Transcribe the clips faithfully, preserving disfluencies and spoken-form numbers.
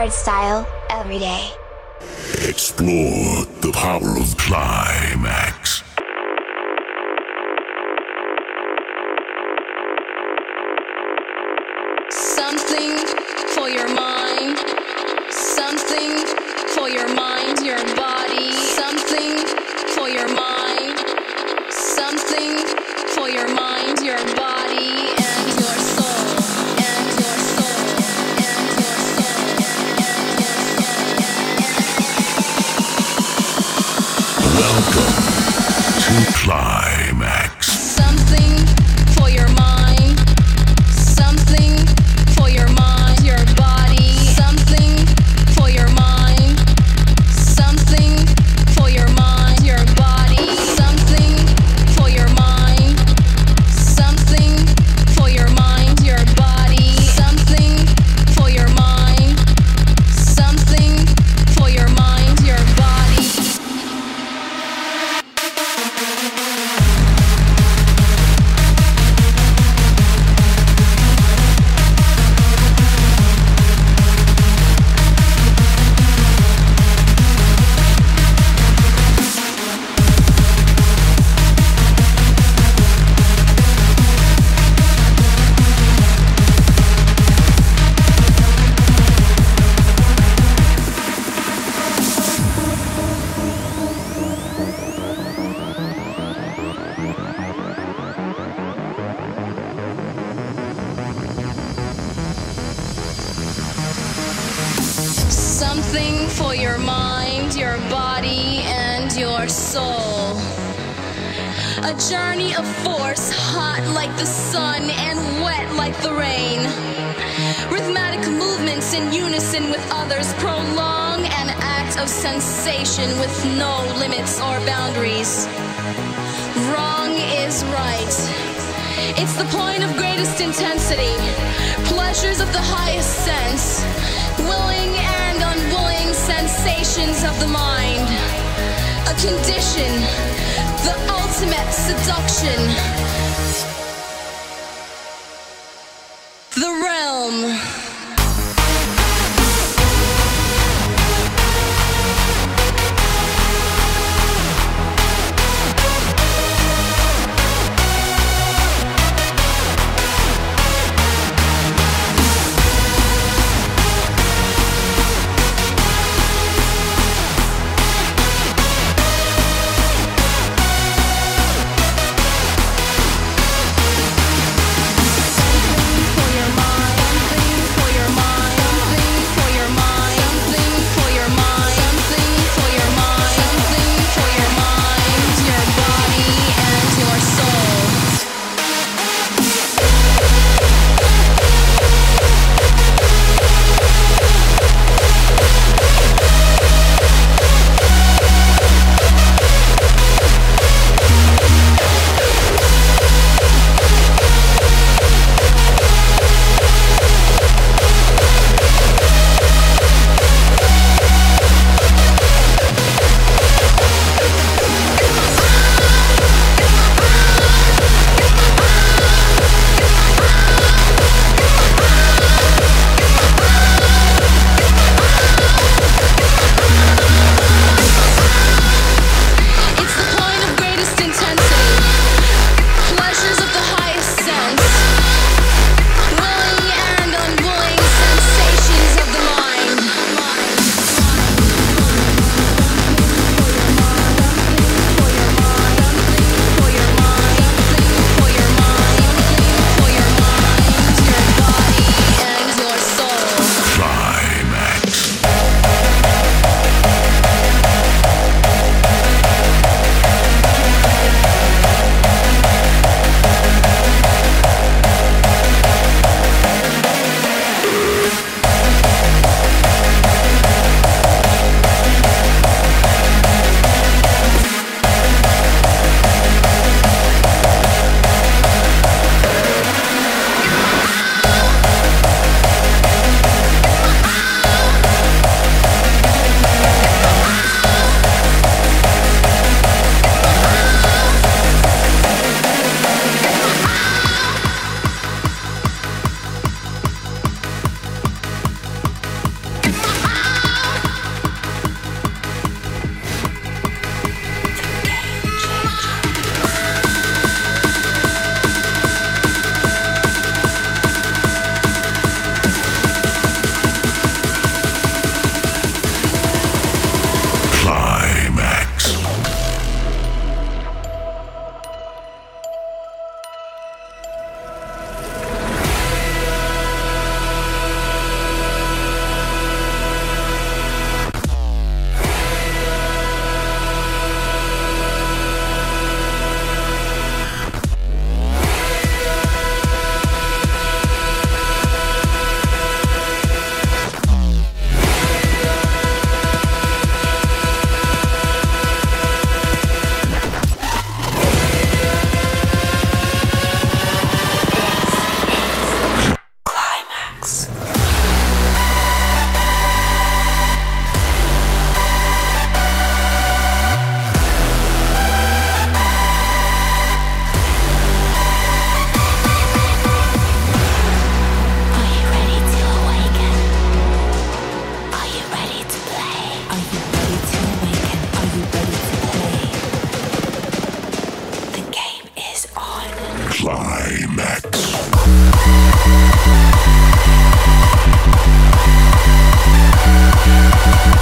style every day. Explore the power of climax. Something for your mind, something for your mind, your body, something for your mind, something for your mind, your body, and your soul, and your soul, and your soul, and your soul. Welcome to Climax. Something for your mind, something for your mind, your body, something for your mind, something for your mind, your body, something for your mind, something for your mind, your body, something for your mind, something for your mind, your body. Something for your mind, your body, and your soul. A journey of force, hot like the sun and wet like the rain. Rhythmic movements in unison with others prolong an act of sensation with no limits or boundaries. Wrong is right. It's the point of greatest intensity. Pleasures of the highest sense. Willing and unwilling sensations of the mind. A condition, the ultimate seduction. The realm. Something for your mind, something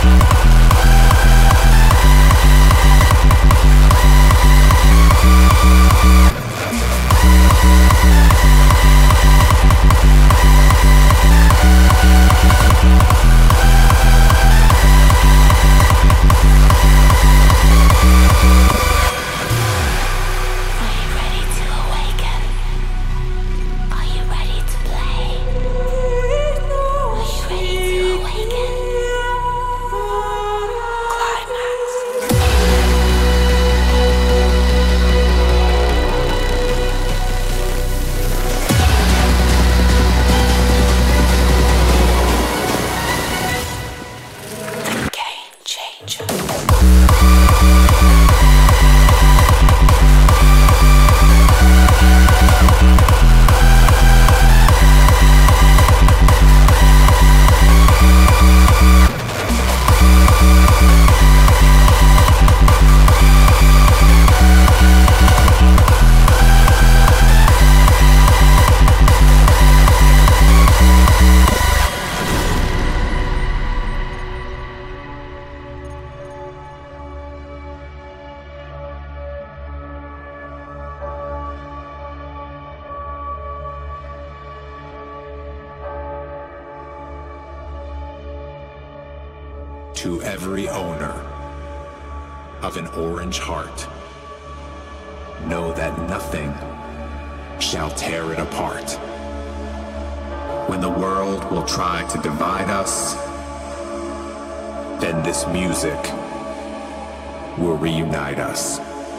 To every owner of an orange heart, know that nothing shall tear it apart. When the world will try to divide us, then this music will reunite us.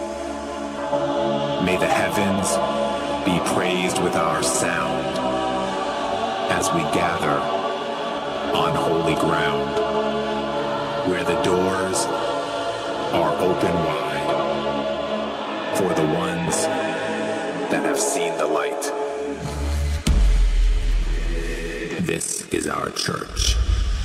May the heavens be praised with our sound as we gather on holy ground, where the doors are open wide for the ones that have seen the light. This is our church.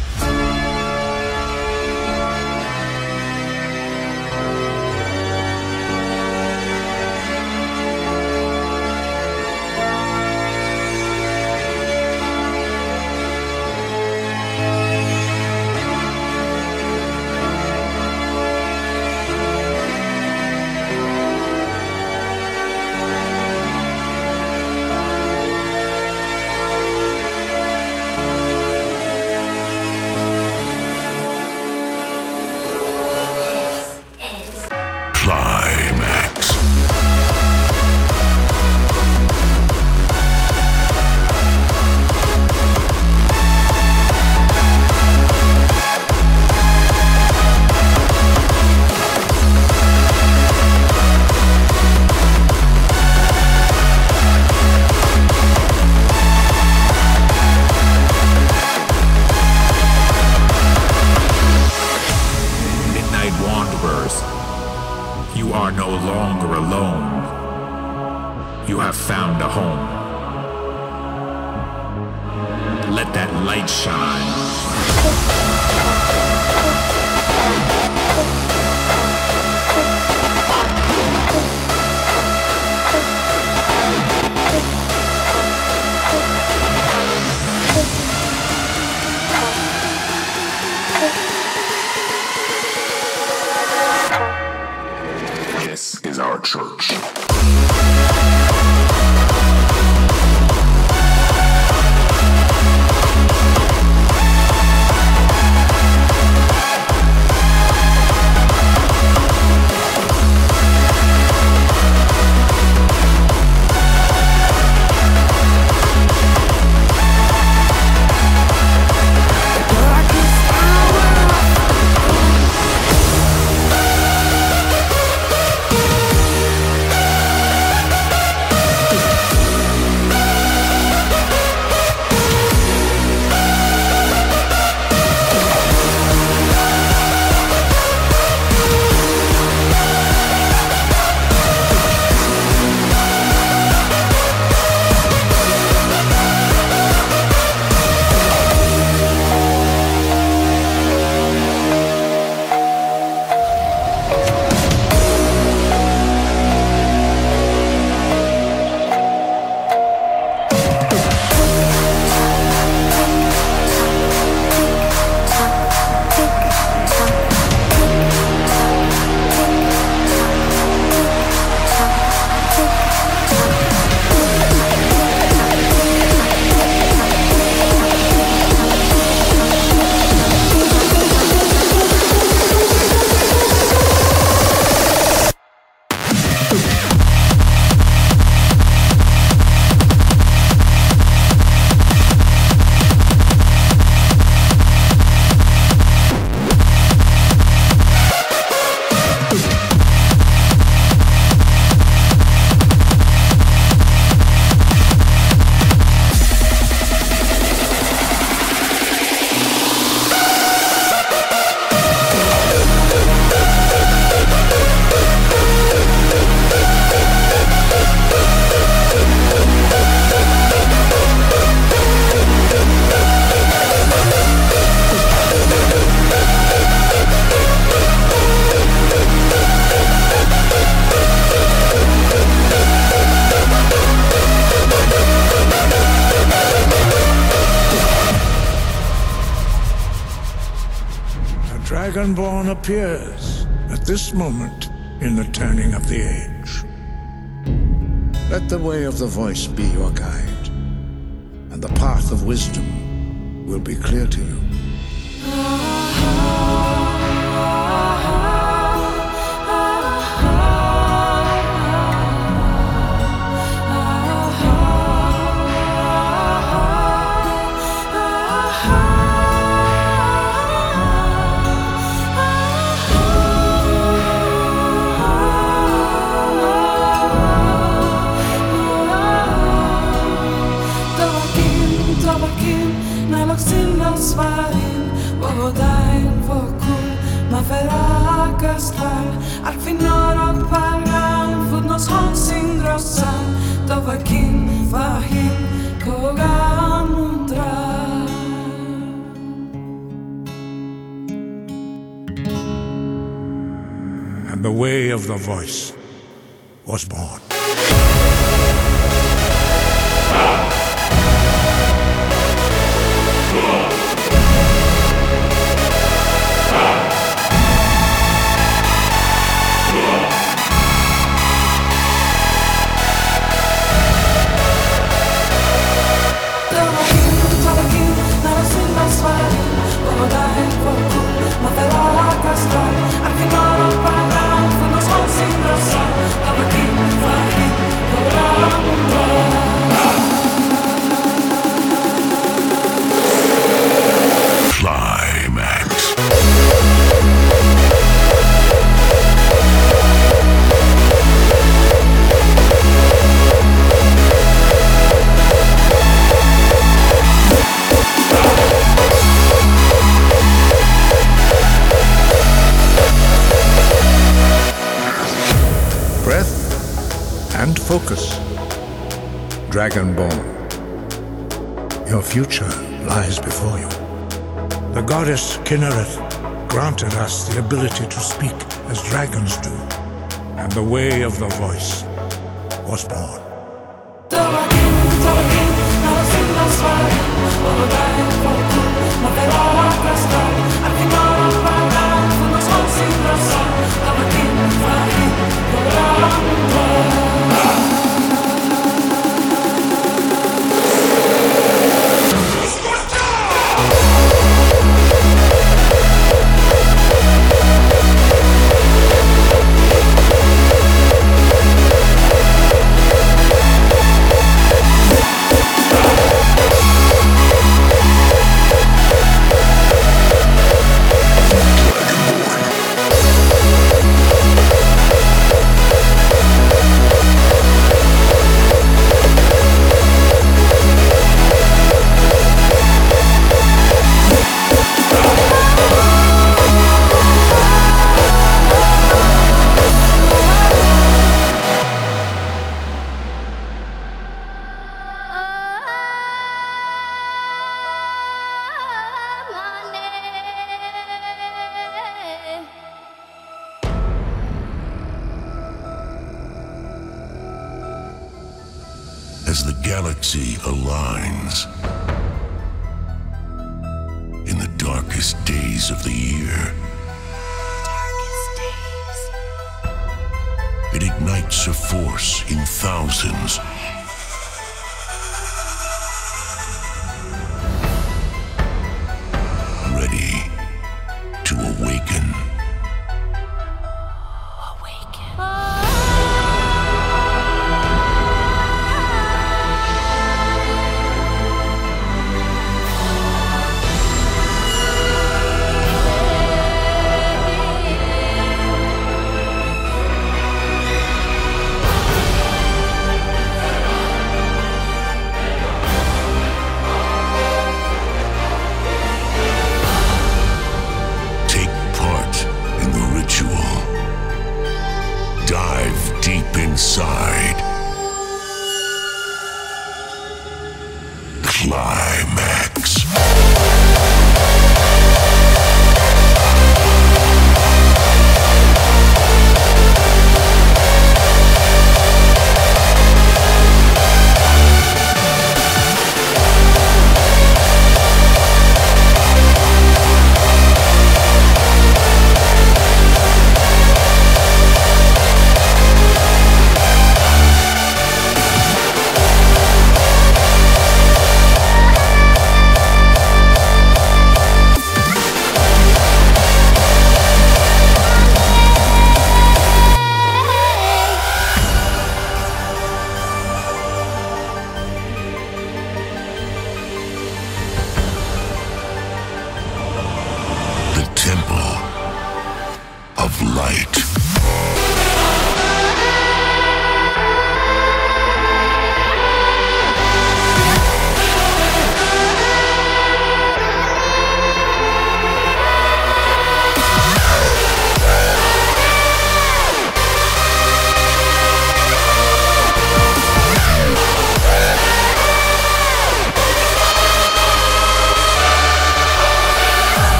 You are no longer alone. You have found a home. Let that light shine. This is our church. Dragonborn appears at this moment in the turning of the age. Let the way of the voice be your guide, and the path of wisdom will be clear to you. And the way of the voice was born. And focus, Dragonborn. Your future lies before you. The goddess Kinnereth granted us the ability to speak as dragons do, and the way of the voice was born. As the galaxy aligns in the darkest days of the year, Darkest days. it ignites a force in thousands. Ready to awaken.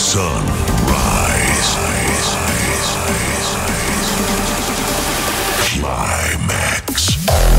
sun rise. Climax.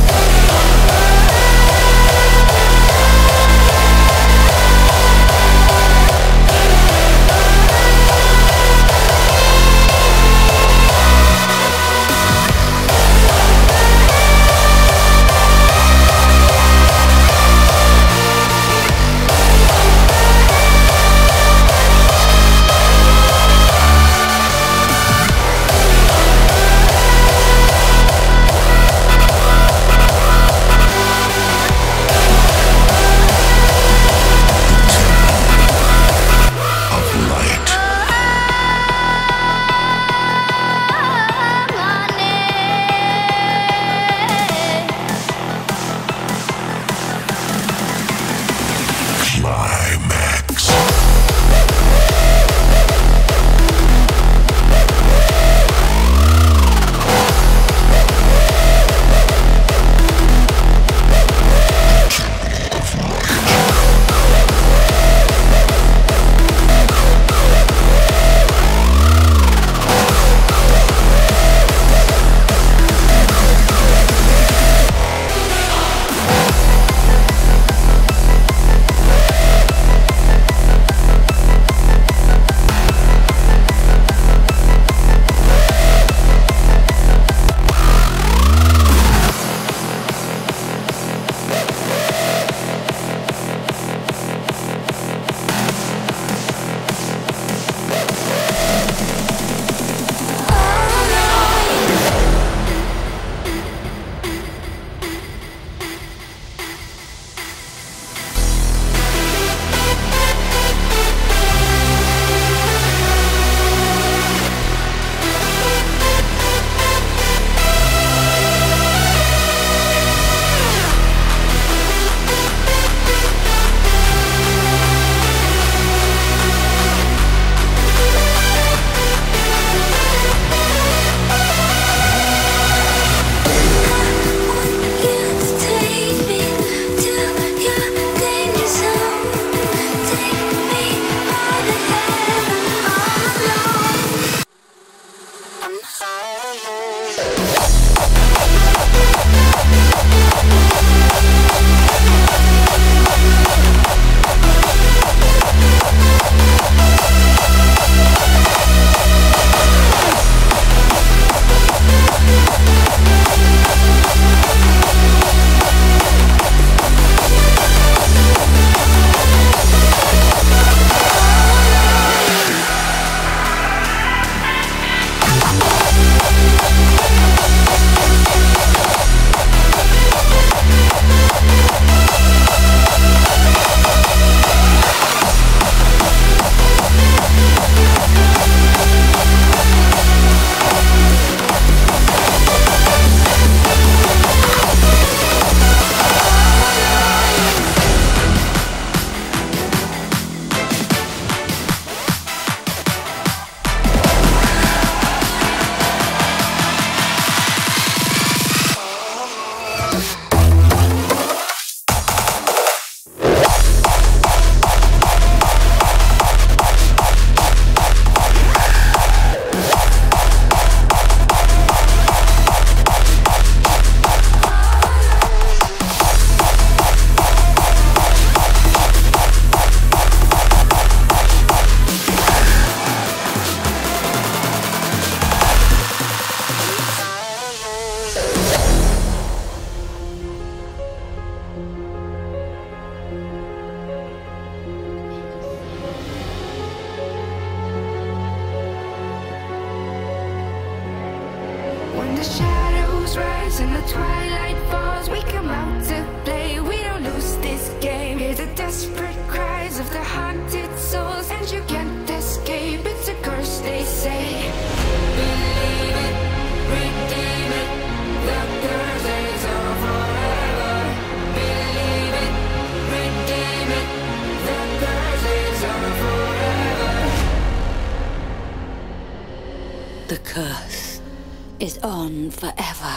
The curse is on forever.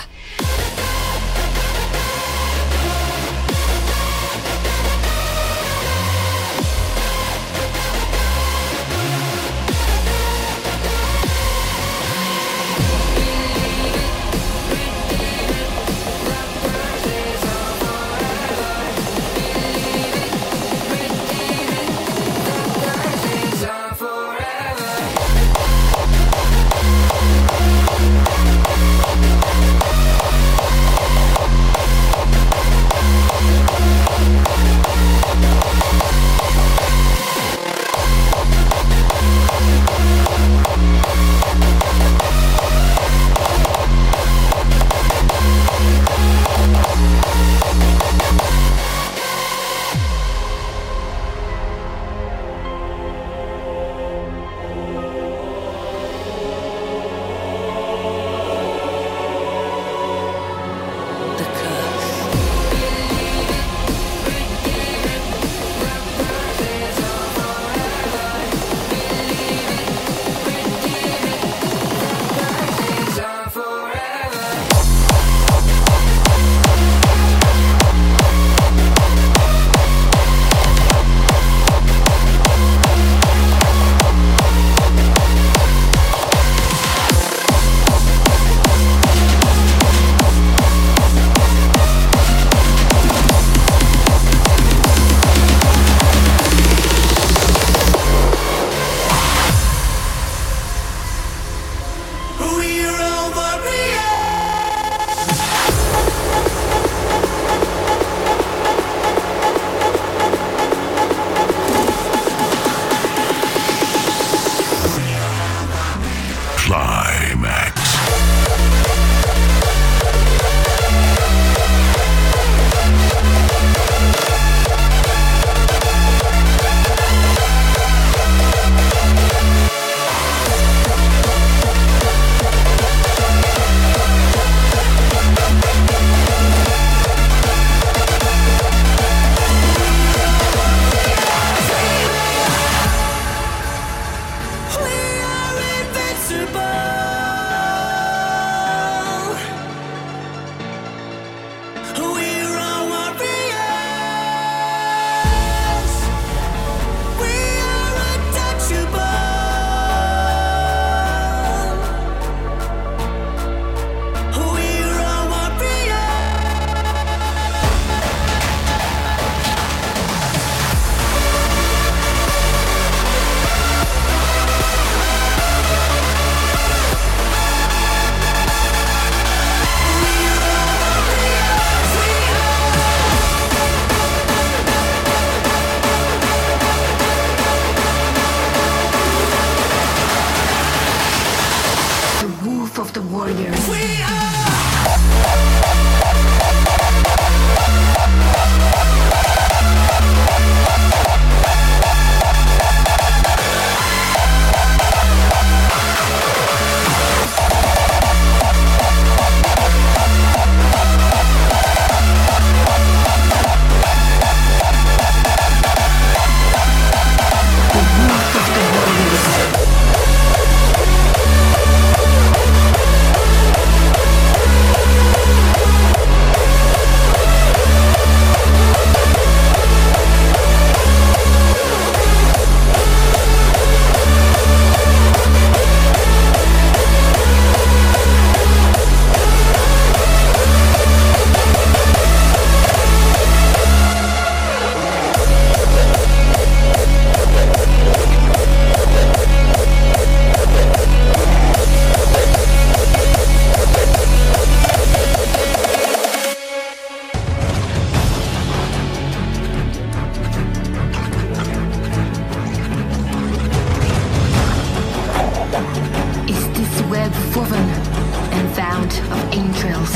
of entrails.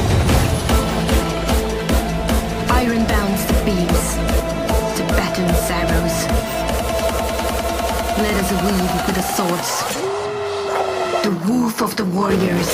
Iron bounds the beams, Tibetan arrows. Let us weave with the swords, the woof of the warriors.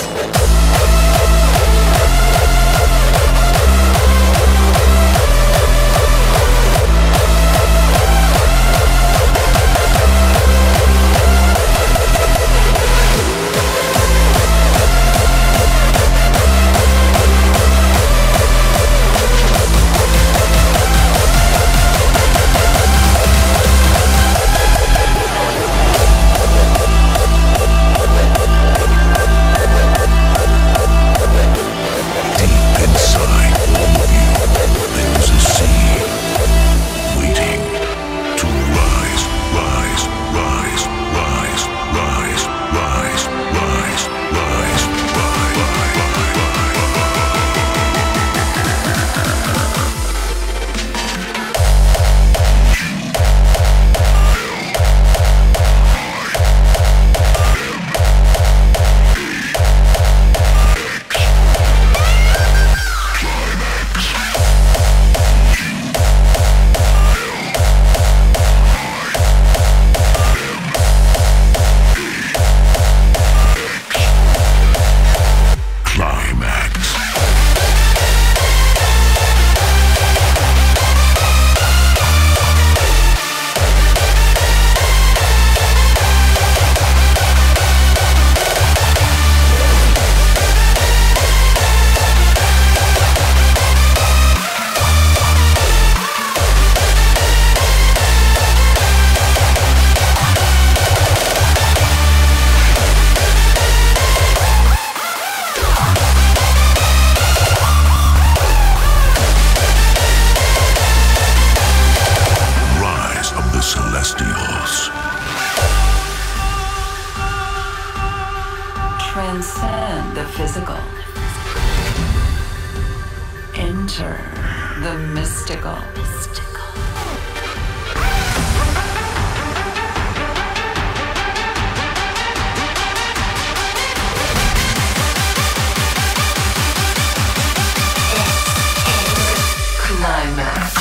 Transcend the physical. Enter the mystical. Climax.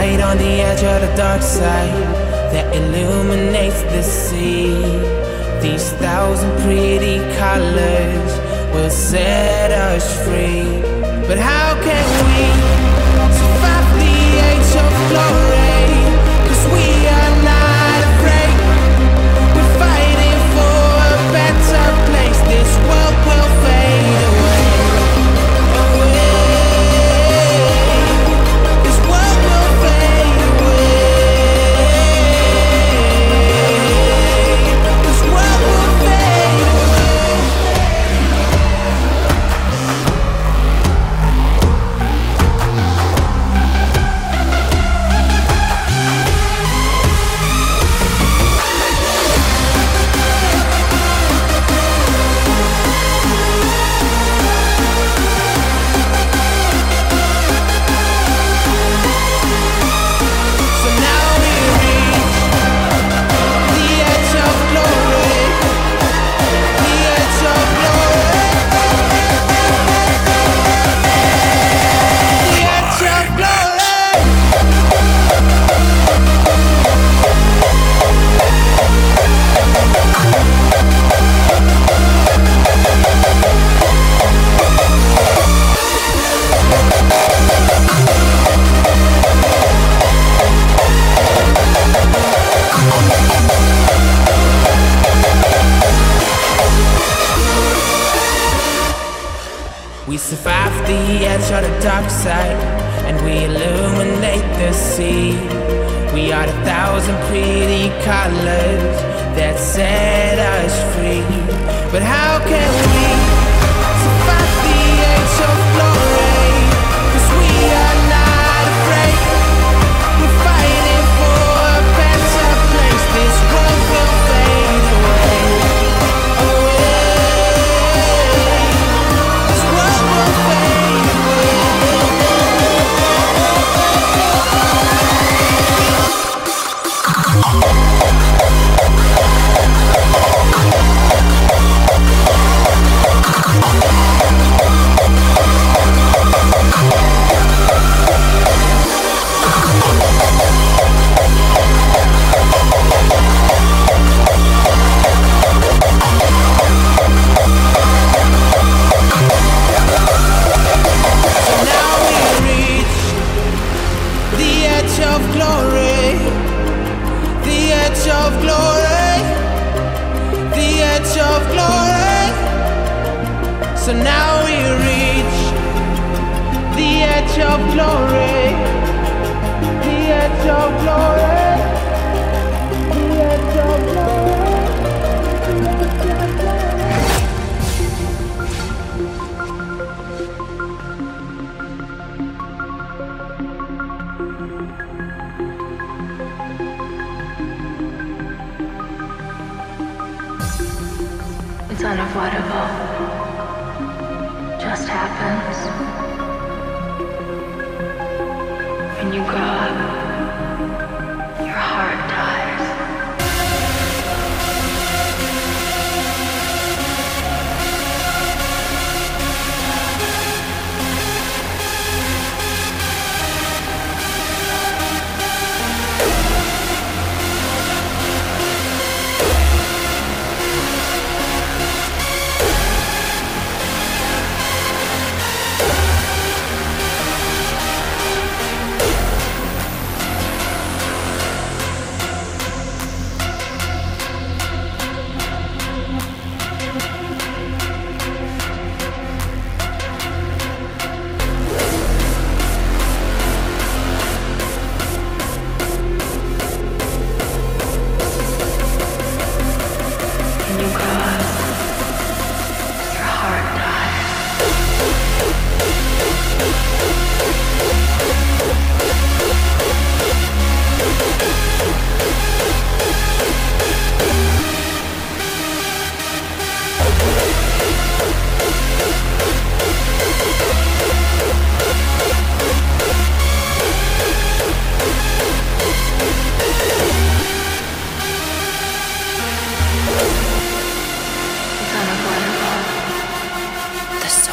light on the edge of the dark side that illuminates the sea. These thousand pretty colors will set us free. But how can we survive the age of glory? 'Cause we are not afraid. We're fighting for a better place. This world will fade away. We survive the edge of the dark side, and we illuminate the sea. We are the thousand pretty colors that set us free. But how can we survive the age of glory? 'Cause we are not afraid. We're fighting for a better place. This world will fade away. So now we reach the edge of glory, the edge of glory, the edge of glory, the edge of glory. It's unavoidable. Just happens. When you grow up, your heart dies.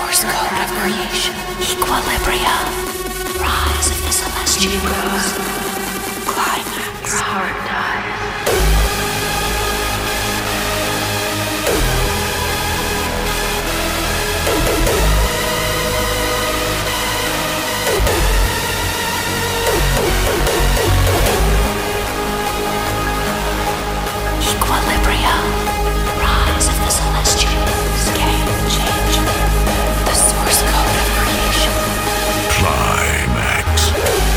creation, equilibrium, rise of the celestials. climax. Your heart dies. Equilibrium. Rise of the Celestials. Game changer. The source code of creation. Climax.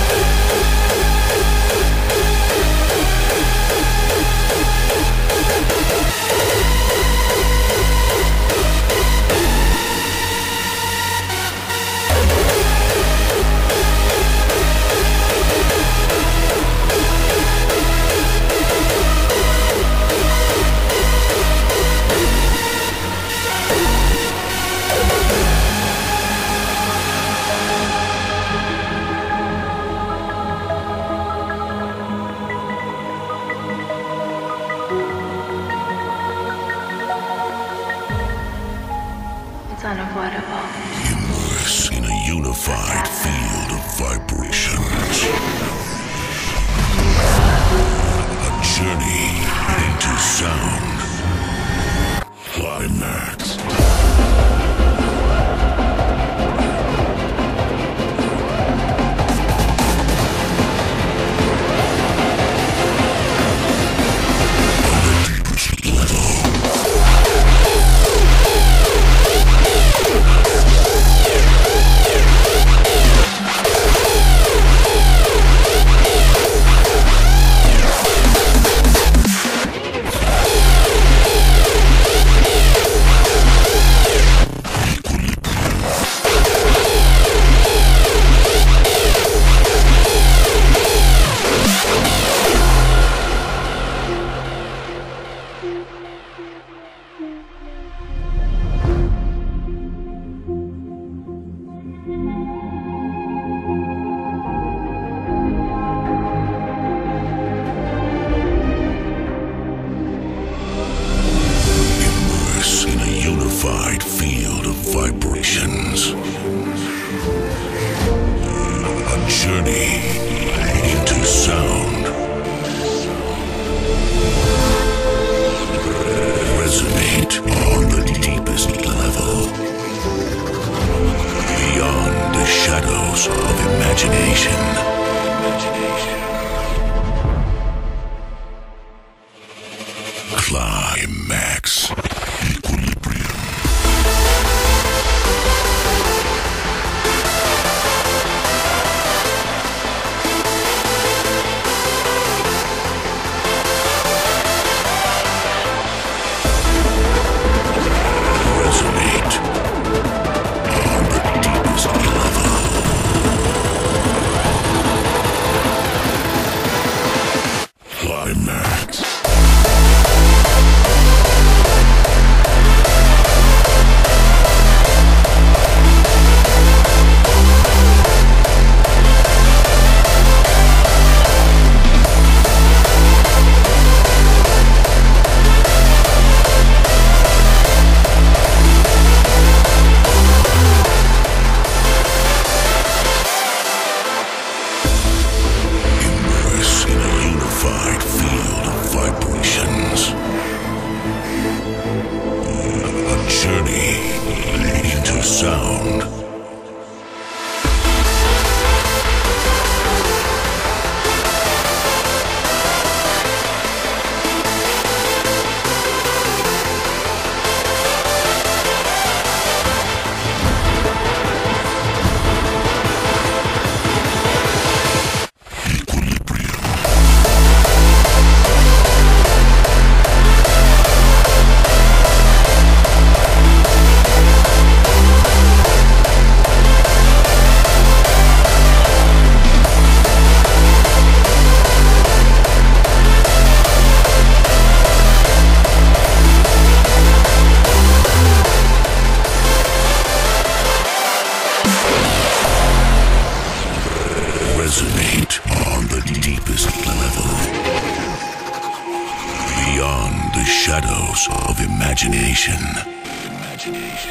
It's unavoidable. Immerse in a unified field of vibrations. A journey into sound. Climax. Unified field of vibrations. A journey into sound. Resonate on the deepest level. Beyond the shadows of imagination. Climax. Sound. Resonate on the deepest level. Beyond the shadows of imagination. Imagination.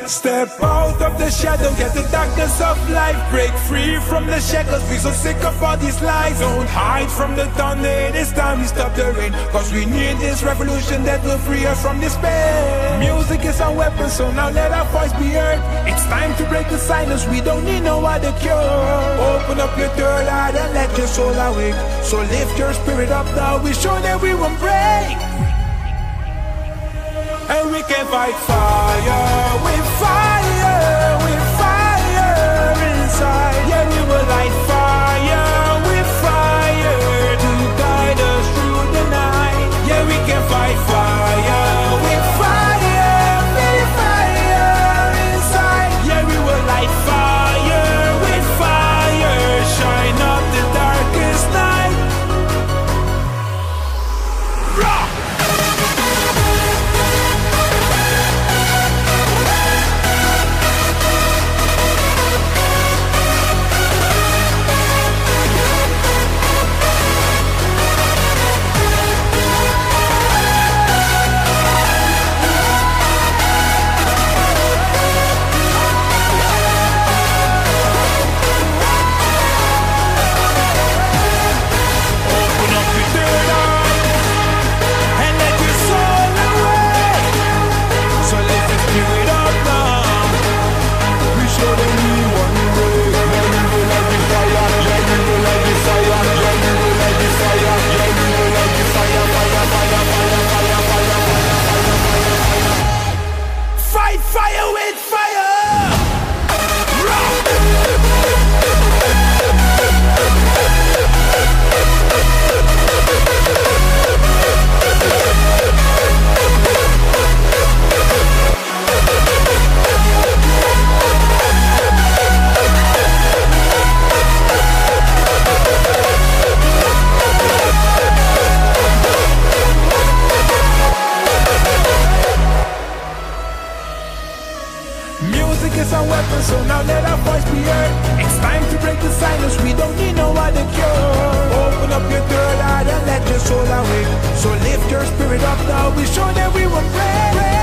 Step out of the shadow, get the darkness of life. Break free from the shackles, we so sick of all these lies. Don't hide from the thunder, it is time we stop the rain. Cause we need this revolution that will free us from despair. Music is our weapon, so now let our voice be heard. It's time to break the silence, we don't need no other cure. Open up your third eye and let your soul awake. So lift your spirit up now, we show that we won't break. And we can fight fire with fire, with fire inside. Yeah, we will light fire with fire to guide us through the night. Yeah, we can fight fire with fire, with fire inside. Yeah, we will light fire with fire, shine up the darkest night. Rock! So now let our voice be heard. It's time to break the silence, we don't need no other cure. Open up your third eye and let your soul awake. So lift your spirit up now, we show that we will pray.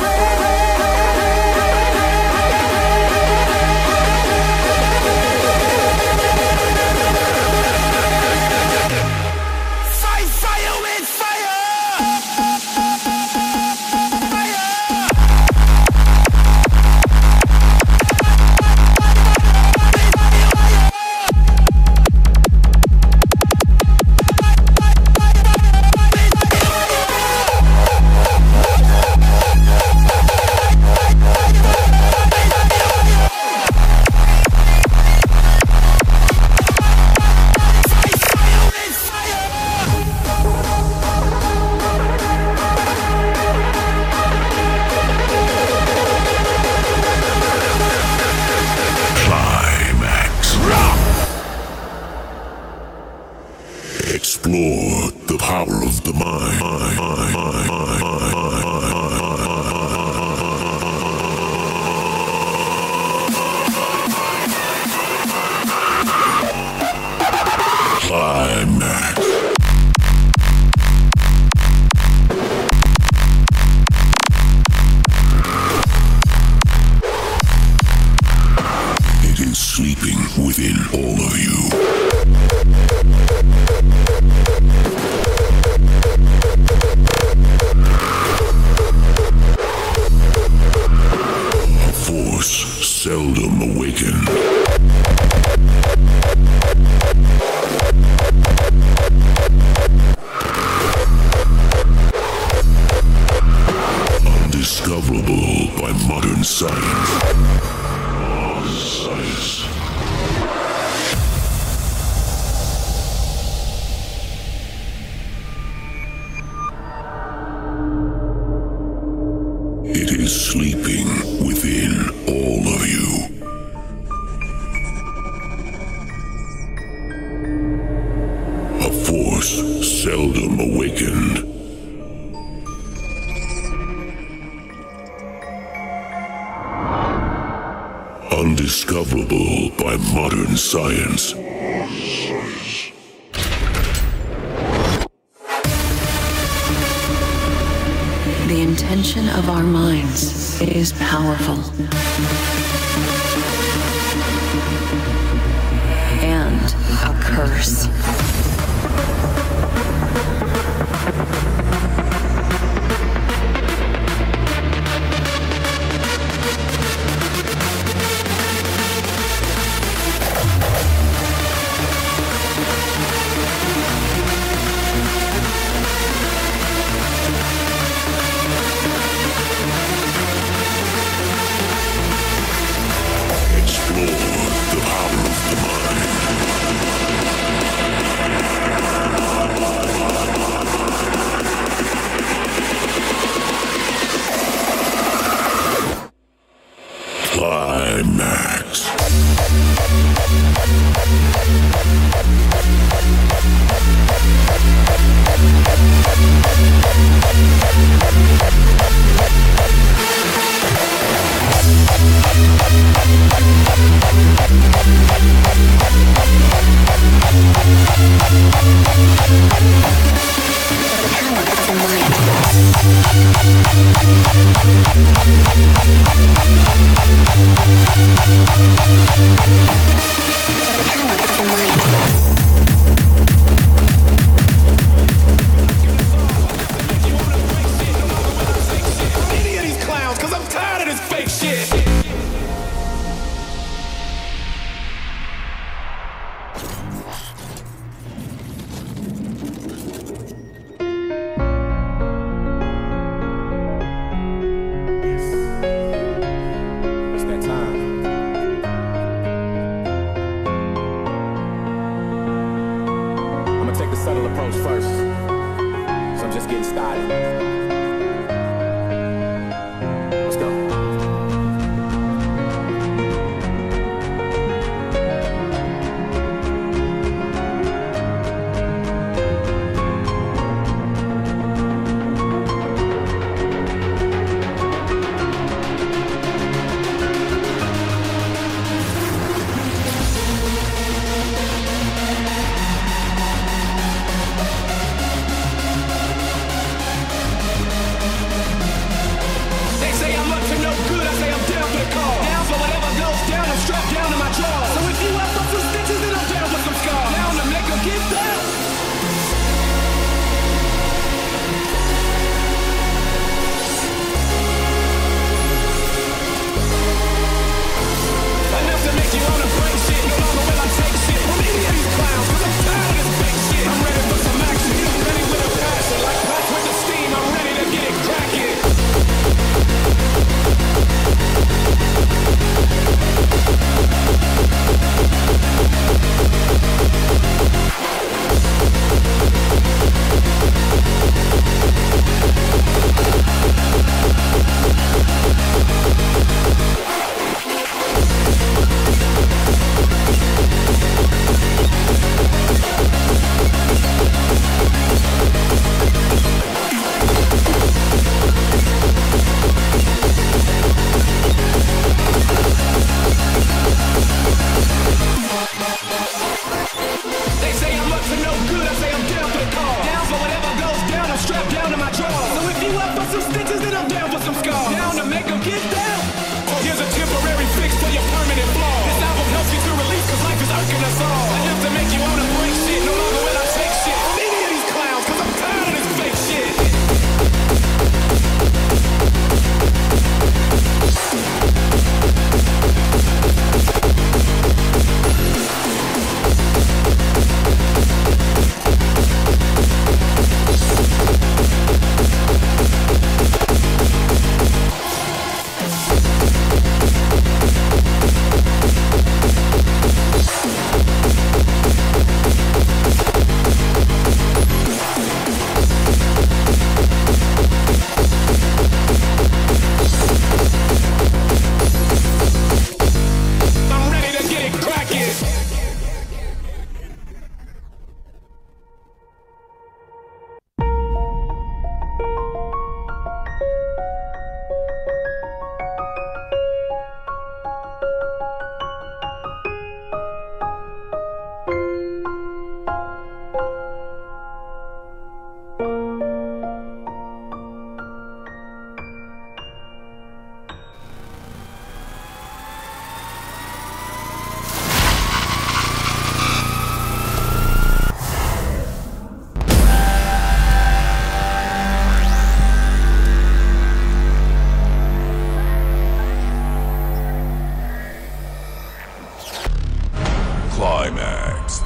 Explore the power of the mind. Climax. It is sleeping within all of you. Seldom awakened. Undiscoverable by modern science. Science. It is sleeping within all of you. A force seldom awakened. Undiscoverable by modern science. The intention of our minds is powerful and a curse. Climax.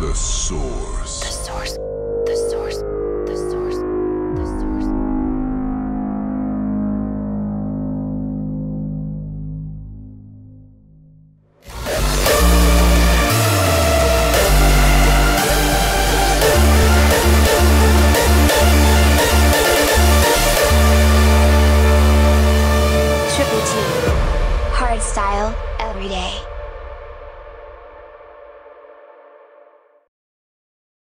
The source. The source.